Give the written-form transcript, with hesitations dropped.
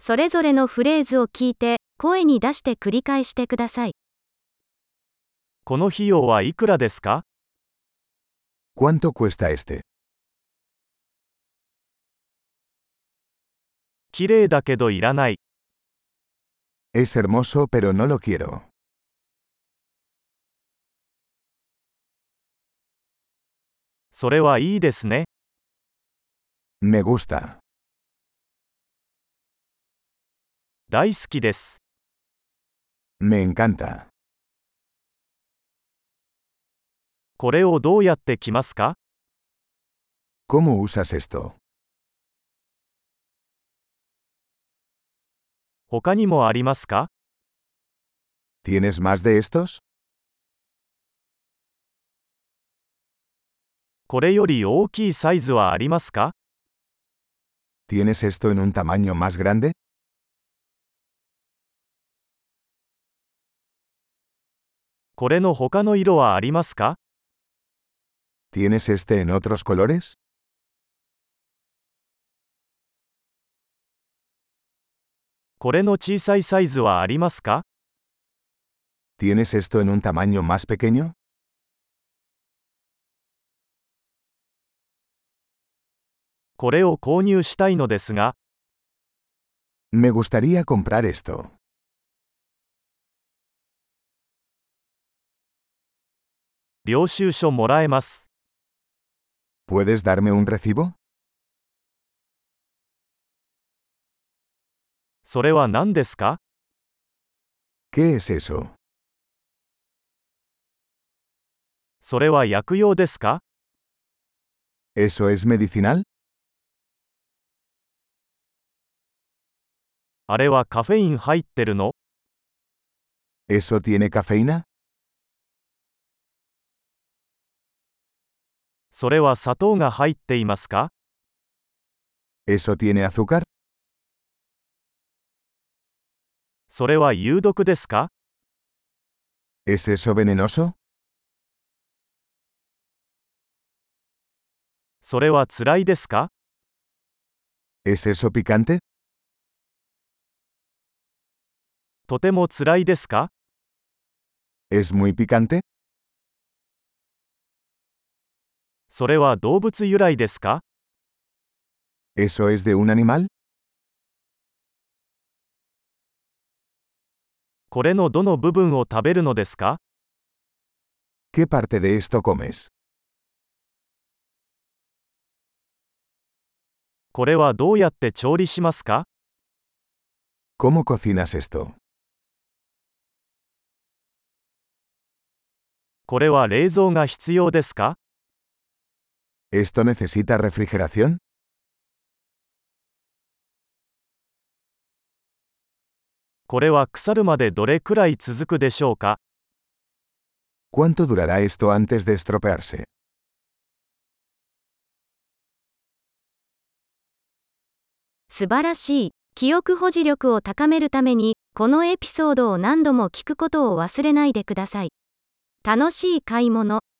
それぞれのフレーズを聞いて、声に出して繰り返してください。 この費用はいくらですか？ ¿Cuánto cuesta este? 綺麗だけどいらない。 Es hermoso pero no lo quiero. それはいいですね。 Me gusta. 大好きです。 Me encanta. これをどうやって着ますか？ ¿Cómo usas esto? 他にもありますか？ ¿Tienes más de estos? これより大きいサイズはありますか？ ¿Tienes esto en un tamaño más grande? これの他の色はありますか？ ¿Tienes este en otros colores? これの小さいサイズはありますか？ ¿Tienes esto en un tamaño más pequeño? これを購入したいのですが、 Me gustaría comprar esto. 領収書もらえます。 ¿Puedes darme un recibo? それは何ですか？ ¿Qué es eso? それは薬用ですか？ ¿Eso es medicinal? あれはカフェイン入ってるの？ ¿Eso tiene cafeína? それは砂糖が入っていますか？ ¿Eso tiene azúcar? それは有毒ですか？ ¿Es eso venenoso? それは辛いですか？ ¿Es eso picante? とても辛いですか？ ¿Es muy picante? それは動物由来ですか？ ¿Eso es de un animal? これのどの部分を食べるのですか？ ¿Qué parte de esto comes? これはどうやって調理しますか？ ¿Cómo cocinas esto? これは冷蔵が必要ですか？ ¿Esto necesita refrigeración? これは腐るまでどれくらい続くでしょうか？ ¿Cuánto durará esto antes de estropearse? 素晴らしい。記憶保持力を高めるために、このエピソードを何度も聞くことを忘れないでください。楽しい買い物。